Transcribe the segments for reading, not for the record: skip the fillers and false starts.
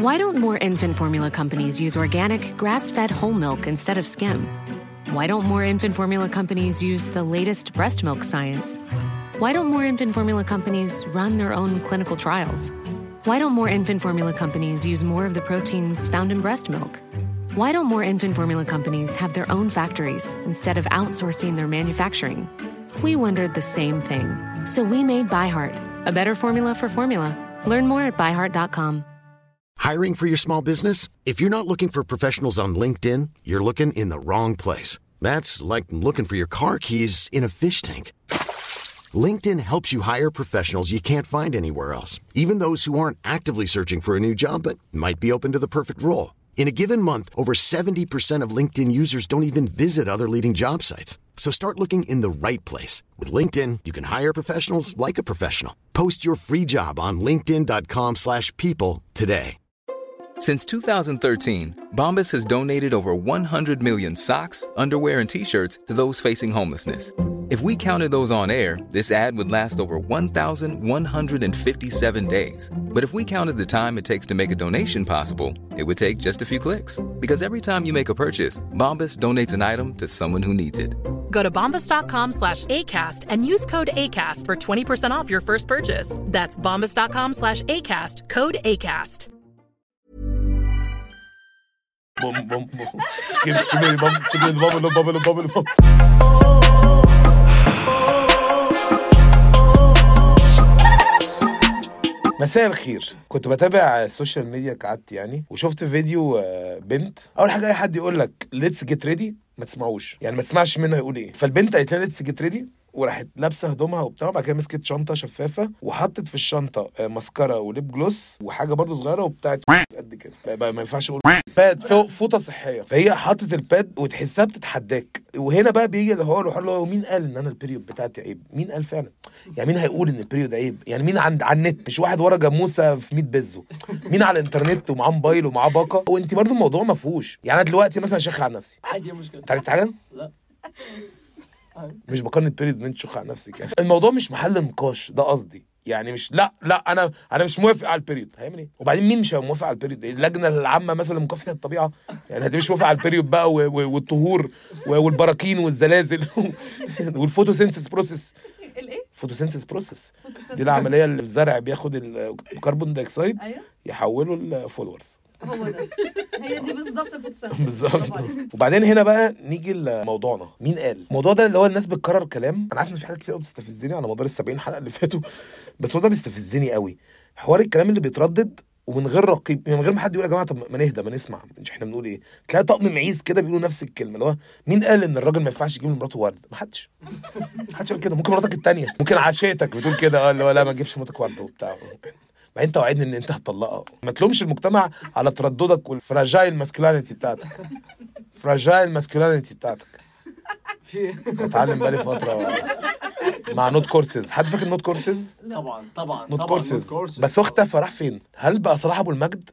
Why don't more infant formula companies use organic, grass-fed whole milk instead of skim? Why don't more infant formula companies use the latest breast milk science? Why don't more infant formula companies run their own clinical trials? Why don't more infant formula companies use more of the proteins found in breast milk? Why don't more infant formula companies have their own factories instead of outsourcing their manufacturing? We wondered the same thing. So we made ByHeart, a better formula for formula. Learn more at byheart.com. Hiring for your small business? If you're not looking for professionals on LinkedIn, you're looking in the wrong place. That's like looking for your car keys in a fish tank. LinkedIn helps you hire professionals you can't find anywhere else, even those who aren't actively searching for a new job but might be open to the perfect role. In a given month, over 70% of LinkedIn users don't even visit other leading job sites. So start looking in the right place. With LinkedIn, you can hire professionals like a professional. Post your free job on linkedin.com/people today. Since 2013, Bombas has donated over 100 million socks, underwear, and T-shirts to those facing homelessness. If we counted those on air, this ad would last over 1,157 days. But if we counted the time it takes to make a donation possible, it would take just a few clicks. Because every time you make a purchase, Bombas donates an item to someone who needs it. Go to bombas.com/ACAST and use code ACAST for 20% off your first purchase. That's bombas.com/ACAST, code ACAST. بوم بوم بوم شبيه بوم. مساء الخير. كنت بتابع السوشيال ميديا كعادتي يعني، وشفت فيديو بنت. اول حاجه اي حد يقول لك ليتس جيت ريدي ما تسمعوش، يعني ما تسمعش منه يقول ايه. فالبنت قالت لها ليتس جيت ريدي، وراحت لابسه هدومها وبتاع، بعد كده مسكت شنطه شفافه وحطت في الشنطه ماسكارا وليب جلوس وحاجه برضو صغيره وبتاعت قد كده، ما ينفعش اقول باد، فوطه صحيه. فهي حطت الباد وتحسها بتتحداك. وهنا بقى بيجي اللي هو مين قال ان انا البيريود بتاعتي عيب؟ مين قال فعلا؟ يعني مين هيقول ان البيريود عيب؟ يعني مين على النت، مش واحد ورا جاموسه في 100 بزو، مين على الانترنت ومعاه موبايل ومعاه باقه. وانت برضو الموضوع ما فيهوش. يعني انا دلوقتي مثلا شيخ على نفسي عادي، مشكله. تعرف حاجه؟ لا مش بقارن البيريود ان انت تشخ على نفسك يعني. الموضوع مش محل نقاش، ده قصدي يعني. مش لا انا مش موافق على البيريود. هيعمل ايه؟ وبعدين مين مش موافق على البيريود؟ اللجنه العامه مثلا لمكافحه الطبيعه يعني هتبقى مش موافق على البيريود بقى والطهور والبراكين والزلازل والفوتوسينثيس بروسيس. الايه؟ فوتوسينثيس بروسيس دي العمليه اللي الزرع بياخد الكربون دايوكسيد يحوله لفولورز. هو ده، هي دي بالظبط الفوتوسينثيس بالظبط. وبعدين هنا بقى نيجي لموضوعنا. مين قال الموضوع ده اللي هو الناس بتكرر كلام؟ انا عارف ان في حاجات كتير قوي بتستفزني على مدار ال70 حلقه اللي فاتوا، بس هو ده بيستفزني قوي، حوار الكلام اللي بيتردد ومن غير رقيب، من غير ما حد يقول يا جماعه طب ما نهدى ما نسمع، مش احنا بنقول ايه. تلاقي طقم معيز كده بيقولوا نفس الكلمه، اللي هو مين قال ان الراجل ما ينفعش يجيب لمراته ورد؟ ما حدش قال كده. ممكن مراتك الثانيه، ممكن عشيتك بتقول كده، اللي هو لا ما تجيبش مراتك ورد وبتاع، ما انت وعدني ان انت هتطلقها. ما تلومش المجتمع على ترددك والفراجايل ماسكولينيتي بتاعتك. فراجايل ماسكولينيتي بتاعتك بتعلم بقالي فتره مع نوت كورسز. حد فاكر نوت كورسز؟ طبعا نوت كورسز. بس هو اختفى، راح فين؟ هل بقى صلاح ابو المجد؟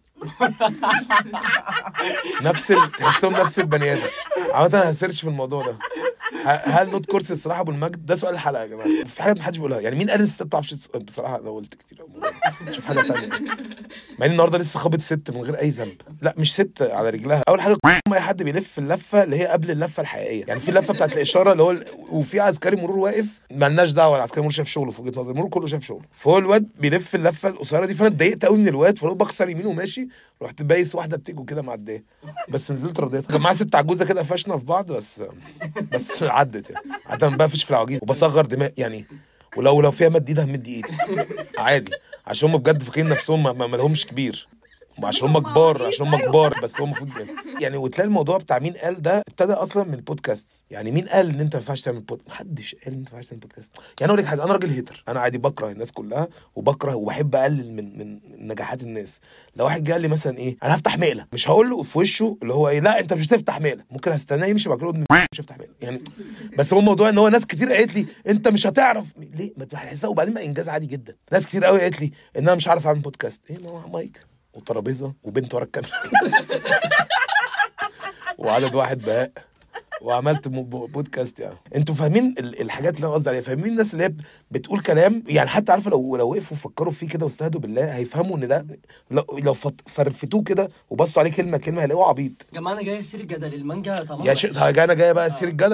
تحسهم نفس البني ادم. عامه انا هسيرش في الموضوع ده. هل نوت كورسز صلاح ابو المجد؟ ده سؤال الحلقه يا جماعه. في حاجات ما حدش بيقولها يعني. مين قال الستات ما بتعرفش بصراحه؟ انا قلت كتير شوف حاجه ثانيه. مع ان النهارده لسه خابط ست من غير اي ذنب. لا مش ست على رجلها. اول حاجه اي حد بيلف اللفه اللي هي قبل اللفه الحقيقيه، يعني في اللفه بتاعت الاشاره اللي هو وفي عسكري مرور واقف مالناش دعوه، العسكري مرور شايف شغله في وجهه نظري، المرور كله شايف شغله، فهو الواد بيلف اللفه القصيره دي. فانا اتضايقت قوي من الواد، فلو بكسر يمين وماشي رحت بايس واحده بتيجو كده معديه، بس نزلت رضيتها. كان معايا ست عجوزه كده قفشنا في بعض، بس عدت يعني. عاده بقفش في العواجيز وبصغر دماغ يعني، ولو فيها مد ايدها همد ايدي عادي، عشان هم بجد فاكرين نفسهم ما لهمش كبير، عشان هم كبار بس هم المفروض يعني. وتلاقي الموضوع بتاع مين قال ده ابتدى اصلا من البودكاست. يعني مين قال ان انت ما ينفعش تعمل محدش قال ان انت ما ينفعش تعمل بودكاست. يعني اقول لك حاجه، انا راجل هيتر، انا عادي بكره الناس كلها وبكره وبحب اقلل من نجاحات الناس. لو واحد جه قال لي مثلا ايه انا هفتح مقله، مش هقول له في وشه اللي هو ايه لا انت مش هتفتح مقله، ممكن هستناه يمشي بعد كده مش هفتح مقله يعني. بس هو الموضوع ان هو ناس كتير قالت لي انت مش هتعرف ليه، ما تحسها. وبعدين بقى انجاز عادي جدا. ناس كتير قوي قالت لي ان انا مش عارف اعمل بودكاست. ايه مايك وترابيزه وبنت ورا الكاميرا وعدد واحد بهاء وعملت بودكاست. يعني انتوا فاهمين الحاجات اللي انا قصدي عليها؟ فاهمين الناس اللي هي بتقول كلام يعني حتى عارفه لو وقفوا فكروا فيه كده واستهدوا بالله هيفهموا ان ده لو فرفتوه كده وبصوا عليه كلمه كلمه هيلاقوه عبيط. يا جماعه انا جاي اسير الجدل المانجا طبعا يا شيخ انا جاي بقى اسير الجدل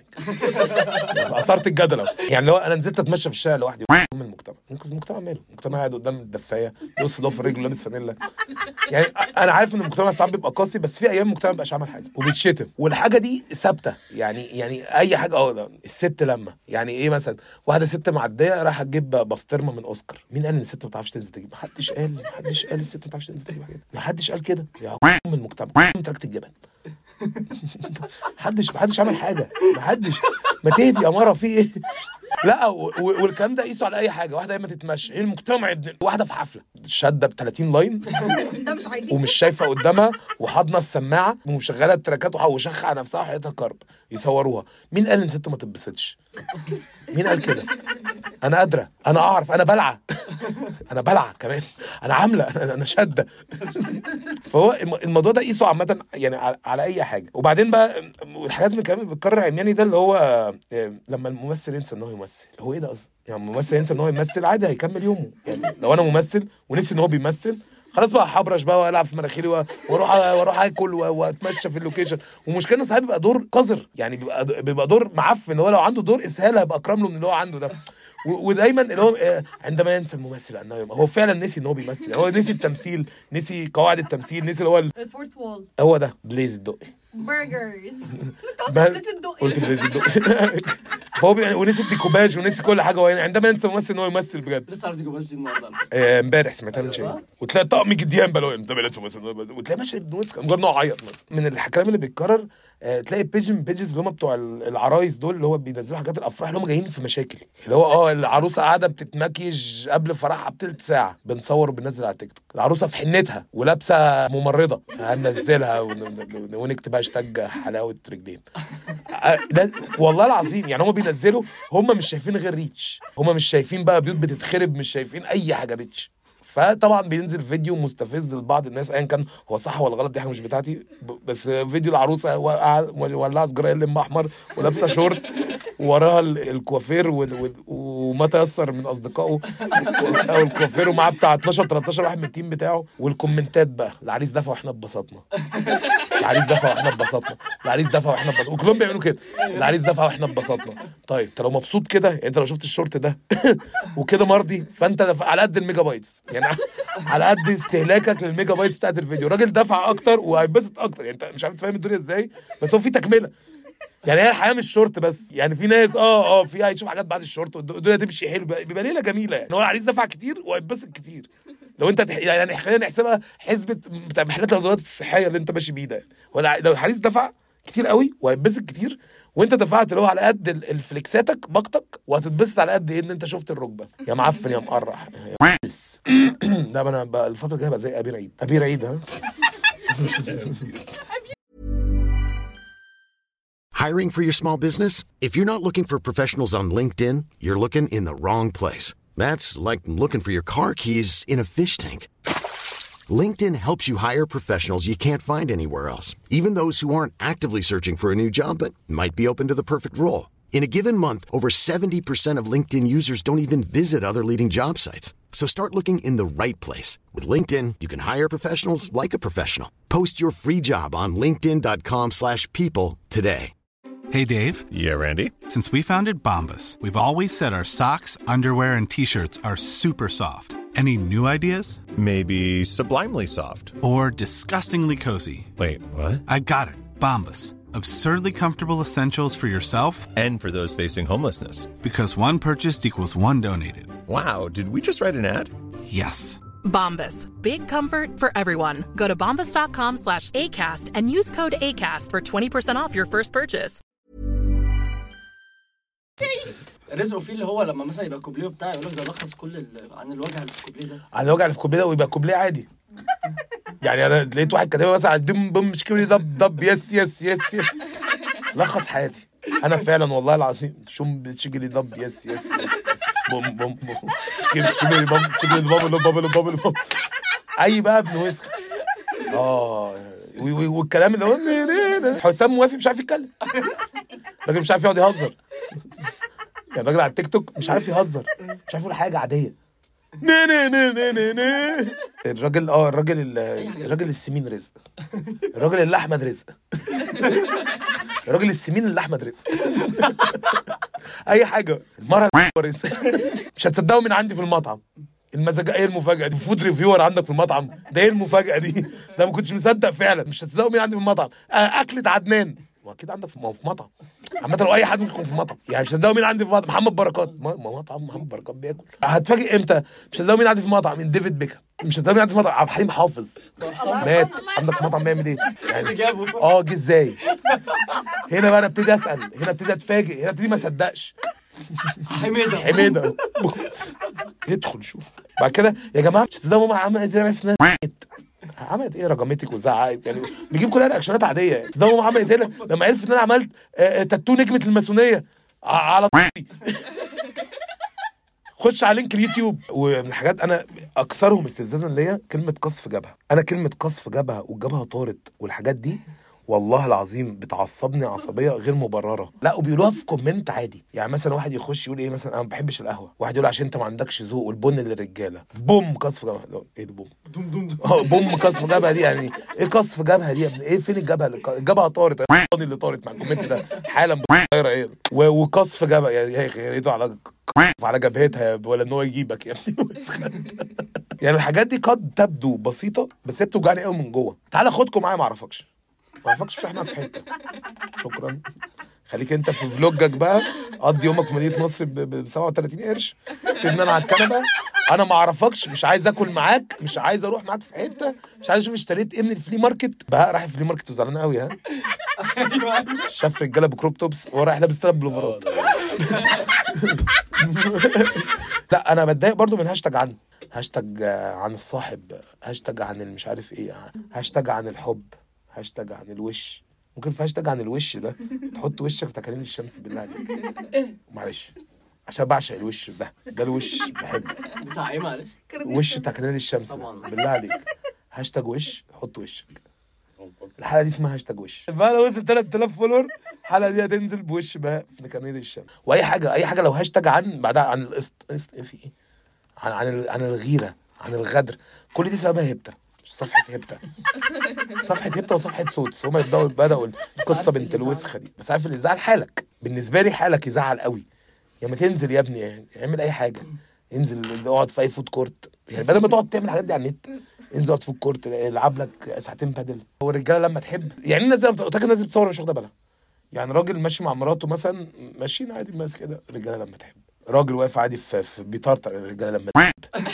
اثرت الجدل. يعني لو انا نزلت اتمشى في الشارع لوحدي من المجتمع ماله؟ المجتمع قاعد قدام الدفايه بص ضف رجله لابس فانيلا. يعني انا عارف ان المجتمع ساعات بيبقى قاسي بس في ايام المجتمع مبقاش عمل حاجه وبيتشتم والحاجه دي ثابته. يعني اي حاجه الست لما يعني ايه مثلا واحده ست معديه راح تجيب بسطرمه من اوسكار، مين قال ان الست ما بتعرفش تنزل تجيب؟ محدش قال الست ما بتعرفش تنزل تجيب حاجه، محدش قال كده. يا من المجتمع تركت الجبل محدش عمل حاجه، ما تهدي يا مره في ايه؟ لا والكلام ده قيسوا على اي حاجه. واحده ما تتمشى المجتمع واحده في حفله شاده ب 30 لاين ده مش عادي ومش شايفه قدامها وحاضنه السماعه ومشغله التراكات وشخ على نفسها وحياتها كرب يصوروها. مين قال ان ست ما تتبسطش؟ مين قال كده؟ انا قادره، انا اعرف، انا بلعه كمان، انا عامله، انا شاده. فهو الموضوع ده قيسوا عامه يعني على اي حاجه. وبعدين بقى الحاجات اللي كمان بتكرر عمياني ده اللي هو لما الممثل ينسى ان هو يمثل. هو ايه ده اصلا؟ يعني الممثل ينسى ان هو يمثل عادي هيكمل يومه. يعني لو انا ممثل ونسي ان هو بيمثل خلاص بقى حبرش بقى والعب في مناخيري واروح اكل واتمشى في اللوكيشن. ومشكلة انه ساعات بيبقى دور قذر، يعني بيبقى دور معفن. هو لو عنده دور اسهال هيبقى اكرم له من اللي هو عنده ده. ودايما اللي هو عندما ينسى الممثل انه هو فعلا نسي ان هو بيمثل. يعني هو نسي التمثيل، نسي قواعد التمثيل، نسي اللي هو الفورث وول. هو ده بليز الدقي برجرز قلت بليز الدقي. فهو ونسي الديكوباج ونسي كل حاجه. هو عندما ينسى الممثل ان هو يمثل بجد. لسه عارف ديكوباج دي النهارده امبارح سمعتها من شويه. وتلاقي طقم جديان بقى لو انت بلاتش مثلا وتلاقي ماشي ابن وسخ مجرد انه عيط مثلا. من الكلام اللي بيتكرر تلاقي بيجز اللي هم بتوع العرايس دول اللي هو بينزلوا حاجات الافراح اللي هم جايين في مشاكل. اللي هو العروسه قاعده بتتمكيج قبل فرحها بثلث ساعه بنصور وبننزل على تيك توك. العروسه في حنتها ولابسه ممرضه هننزلها ونكتب هاشتاج حلاوه رجلين. والله العظيم يعني هم بينزلوا هم مش شايفين غير ريتش. هم مش شايفين بقى بيوت بتتخرب، مش شايفين اي حاجه ريتش. فطبعا بينزل فيديو مستفز لبعض الناس ايا كان هو صح ولا غلط، دي حاجه مش بتاعتي. بس فيديو العروسه ولعها سجاره لم احمر ولابسه شورت ووراها الكوافير وما تيسر من اصدقائه او الكوافير ومعاه بتاع 12 13 واحد من التيم بتاعه. والكومنتات بقى العريس دفع واحنا اتبسطنا، العريس دفع واحنا اتبسطنا، العريس دفع واحنا اتبسطنا، وكلهم بيعملوا كده العريس دفع واحنا اتبسطنا. طيب انت لو مبسوط كده، يعني انت لو شفت الشورت ده وكده مرضي، فانت على قد الميجا بايتس، يعني على قد استهلاكك للميجا بايتس بتاعت الفيديو. الراجل دفع اكتر وهيتبسط اكتر. يعني انت مش عارف تفهم الدنيا ازاي، بس هو في تكمله. يعني هي الحياه مش شورت بس، يعني في ناس في هيشوف حاجات بعد الشورت والدنيا تمشي حلو، بيبقى ليله جميله. يعني هو العريس دفع كتير وهيتبسط كتير. لو انت يعني خلينا نحسبها حسبه بتاع محلات الادوات الصحيه اللي انت ماشي بيه ده. لو العريس دفع كتير قوي وهيتبسط كتير، وانت دفعت اللي هو على قد الفليكساتك باقتك، وهتتبسط على قد ايه ان انت شفت الركبه يا معفن يا مقرح. لا انا بقى الفتره الجايه بقى زي ابي رعيد ها. Hiring for your small business? If you're not looking for professionals on LinkedIn, you're looking in the wrong place. That's like looking for your car keys in a fish tank. LinkedIn helps you hire professionals you can't find anywhere else, even those who aren't actively searching for a new job but might be open to the perfect role. In a given month, over 70% of LinkedIn users don't even visit other leading job sites. So start looking in the right place. With LinkedIn, you can hire professionals like a professional. Post your free job on linkedin.com/people today. Hey, Dave. Yeah, Randy? Since we founded Bombas, we've always said our socks, underwear, and T-shirts are super soft. Any new ideas? Maybe sublimely soft. Or disgustingly cozy. Wait, what? I got it. Bombas. Absurdly comfortable essentials for yourself and for those facing homelessness. Because one purchased equals one donated. Wow, did we just write an ad? Yes. Bombas. Big comfort for everyone. Go to bombas.com/ACAST and use code ACAST for 20% off your first purchase. رزقه فيه اللي هو لما مثلا يبقى كوبليه بتاعه يقول لك ده لخص كل عن الوجع اللي في الكوبليه ده، عن الوجع اللي في الكوبليه ده، ويبقى كوبليه عادي. يعني انا لقيت واحد كاتبها مثلا دم بم مش كبري دب يس يس يس يس لخص حياتي انا فعلا والله العظيم. شوم بتشجلي دب يس يس يس بوم بوم بوم شجلي بوم شجلي بوم بوم بوم اي بقى ابن وسخ. والكلام اللي هو حسام موافي مش عارف يتكلم، الراجل مش عارف يقعد يهزر، يعني الراجل على التيك توك مش عارف يهزر، مش عارف يقول حاجه عاديه. الراجل السمين رزق، الراجل اللي احمد رزق، الراجل السمين اللي احمد رزق. اي حاجه. المره رزق. مش هتصدقوا من عندي في المطعم المزاجة. ايه المفاجأة دي؟ فود ريفيور عندك في المطعم ده؟ ايه المفاجأة دي؟ ده ما كنتش مصدق فعلا. مش هتصدقوا مين عندي في المطعم. أكلة عدنان. واكيد عندك في مطعم عامة، لو اي حد ممكن يكون في مطعم. يعني مش هتصدقوا مين عندي في مطعم. محمد بركات. مطعم محمد بركات بياكل. هتفاجئ امتى؟ مش هتصدقوا مين عندي في مطعم. من ديفيد بيكهام. مش هتصدقوا مين عندي في مطعم. عبد الحليم حافظ مات. عندك في مطعم بيعمل ايه؟ يعني جه ازاي؟ هنا بقى انا ابتدي اسال، هنا ابتدي اتفاجئ، هنا ابتدي ما اصدقش. حميدة يدخل شوف بعد كده. يا جماعه مش تصدقوا ماما عملت ايه في عملت ايه؟ رجمتك وزعقت يعني، بيجيب كلها رياكشنات عاديه. تصدقوا ماما عملت ايه لما عرفت ان انا عملت تاتو نجمه الماسونيه على خش على لينك اليوتيوب. ومن الحاجات انا اكثرهم استفزازا ليا كلمه قصف جبهه. انا كلمه قصف جبهه والجبهه طارت والحاجات دي والله العظيم بتعصبني عصبيه غير مبرره. لا وبيقولوها في كومنت عادي. يعني مثلا واحد يخش يقول ايه مثلا انا ما بحبش القهوه، واحد يقول عشان انت ما عندكش ذوق والبن للرجاله. بوم قصف جبهه. ايه ده بوم؟ بوم قصف جبهه دي يعني ايه؟ قصف جبهه دي يا ابني ايه؟ فين الجبهه؟ الجبهه طارت اللي طارت مع الكومنت ده حالا طايره ايه؟ وقصف جبهه يعني هي على جبهتها ولا ان هو يجيبك يا ابني. يعني الحاجات دي قد تبدو بسيطه بس هي بتوجعني قوي من جوه. تعالى خدكم معايا ما اعرفكش مش احنا في حته. شكرا. خليك انت في فلوجك بقى، قضي يومك في مدينه نصر ب 37 قرش. سيبني انا على الكنبه، انا ما اعرفكش، مش عايز اكل معاك، مش عايز اروح معاك في حته، مش عايز اشوف اشتريت ايه من الفلي ماركت. بقى رايح الفلي ماركت وزعلان قوي. ها شاف رجاله بكروب توبس ورايح لابس 3 بلوفرات. لا انا بتضايق برضو من هاشتاج عن الصاحب، هاشتاج عن المش عارف ايه، هاشتاج عن الحب، هاشتاج عن الوش. ممكن في هاشتاج عن الوش ده تحط وشك في تكاليل الشمس بالله عليك. معلش عشان بعشق الوش ده الوش بحبه بتاع ايه معلش؟ وش تكاليل الشمس بالله عليك. هاشتاج وش، حط وشك. الحلقه دي اسمها هاشتاج وش. بقى لو وصل 3000 فولور الحلقه دي هتنزل بوش بقى في تكاليل الشمس. واي حاجه لو هاشتاج عن بعدها عن القسط في ايه، عن الغيره، عن الغدر، كل دي سببها هبته. صفحة هبته وصفحة صوت. هما بدأوا القصة بنت الوسخة دي. بس عارف اللي يزعل حالك، بالنسبة لي حالك يزعل قوي. يعني ما تنزل يا ابني، يعني اعمل اي حاجة، انزل اقعد في اي فود كورت، يعني بدل ما تقعد تعمل الحاجات دي على النت انزل اقعد في فود كورت العب لك ساعتين بادل. هو الرجاله لما تحب يعني الناس الناس بتصور مش واخده بالها. يعني راجل ماشي مع مراته مثلا ماشيين عادي ماسك كده، الرجاله لما تحب. راجل واقف عادي في بيطرطق، الرجاله لما تحب.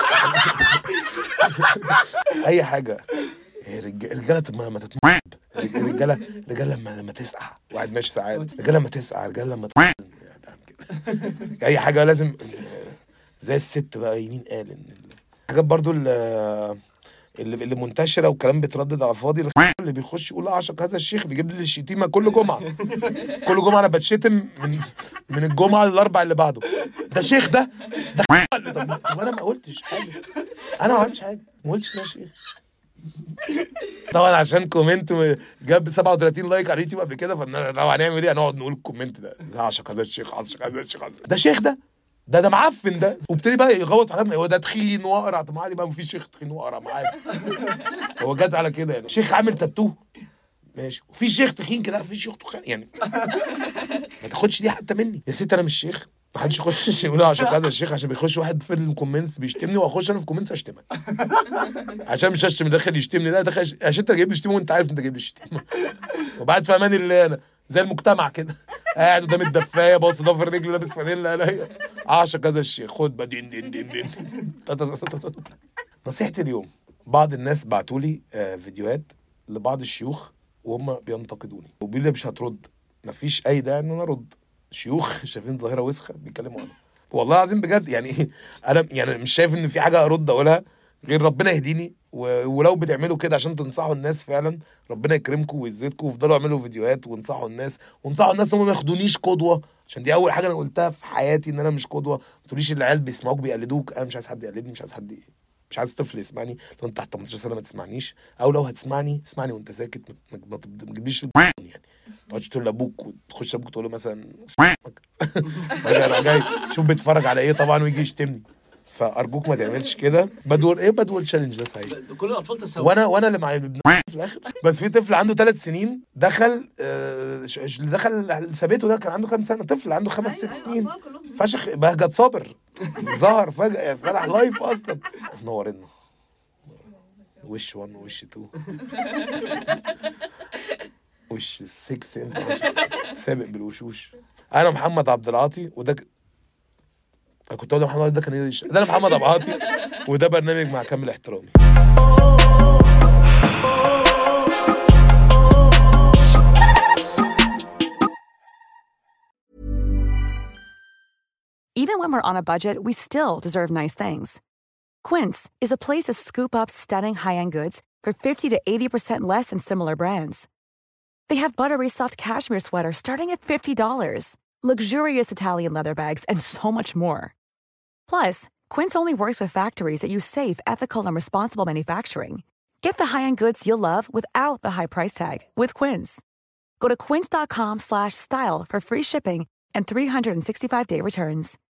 اي حاجه. الرجاله لما تتمعب، الرجاله لما تسقع، واحد ماشي ساعات، الرجاله لما تسقع، الرجاله لما اي حاجه لازم زي الست بقى. يمين قال ان الحاجات برضو اللي منتشره وكلام بيتردد على فاضي. اللي بيخش يقول اعشق هذا الشيخ بيجيب لي الشتيمه كل جمعه. انا بتشتم من الجمعه للاربع اللي بعده. ده شيخ ده طب انا ما قلتش حاجه، انا ما عملتش حاجه، ما قلتش يا شيخ. طبعا عشان كومنت جاب 37 لايك على اليوتيوب قبل كده، فلو هنعمل ايه هنقعد نقول الكومنت ده اعشق هذا الشيخ، اعشق هذا الشيخ، ده شيخ ده معفن ده. وابتدي بقى يغوط على هو ده تخين واقرع. طب عادي بقى مفيش شيخ تخين واقرع معايا. هو جد على كده يعني شيخ عامل تاتو ماشي، وفي شيخ تخين كده، في شيخ تخين يعني. ما تاخدش دي حتى مني يا ست، انا مش شيخ. ما حدش يخش يقول عشان هذا الشيخ، عشان بيخش واحد في الكومنتس بيشتمني واخش انا في الكومنتس اشتمك عشان مش هشتم داخل يشتمني. ده داخل عشان انت جايب لي شتيمه وانت عارف انت جايب لي شتيمه. وبعد في امان الله انا زي المجتمع كده قاعد قدام الدفايه باص ضفر رجله لابس فانيلا. انا اعشق هذا الشيخ. خد بقى دين نصيحتي اليوم. بعض الناس بعتوا لي فيديوهات لبعض الشيوخ وهم بينتقدوني وبيقولوا لي مش هترد. مفيش اي داعي ان انا ارد. شيوخ شايفين ظاهره وسخه بيتكلموا عنها. والله العظيم بجد يعني انا يعني مش شايف ان في حاجه ارد اقولها غير ربنا يهديني. ولو بتعملوا كده عشان تنصحوا الناس فعلا ربنا يكرمكم ويزيدكم، وافضلوا اعملوا فيديوهات وانصحوا الناس ان هم ما ياخدونيش قدوه. عشان دي اول حاجه انا قلتها في حياتي ان انا مش قدوه. ما تقوليش العيال بيسمعوك بيقلدوك. انا مش عايز حد يقلدني، مش عايز حد مش عايز طفل يسمعني. لو انت تحت 18 سنه ما تسمعنيش، او لو هتسمعني اسمعني وانت ساكت، ما تجيبليش يعني ما تقعدش تقول لابوك وتخش ابوك تقول له مثلا جاي شوف بيتفرج على ايه طبعا ويجي يشتمني. فارجوك ما تعملش كده. بدول تشالنج ده سعيد. كل الاطفال تساوي. وانا اللي معايا ابن في الاخر. بس في طفل عنده 3 سنين دخل دخل ثابته. ده كان عنده كام سنه؟ طفل عنده 5-6 سنين. فشخ بهجت صابر ظهر فجاه فتح لايف اصلا. نورنا وش 1 ووش 2 وش 6. انت سابق بالوشوش. انا محمد عبد العاطي وده انا كنت اقول محمد ده كان ده انا محمد عبد العاطي وده برنامج مع كامل احترامي. Even when we're on a budget, we still deserve nice things. Quince is a place to scoop up stunning high-end goods for 50 to 80% less than similar brands. They have buttery soft cashmere sweaters starting at $50, luxurious Italian leather bags, and so much more. Plus, Quince only works with factories that use safe, ethical, and responsible manufacturing. Get the high-end goods you'll love without the high price tag with Quince. Go to quince.com/style for free shipping and 365-day returns.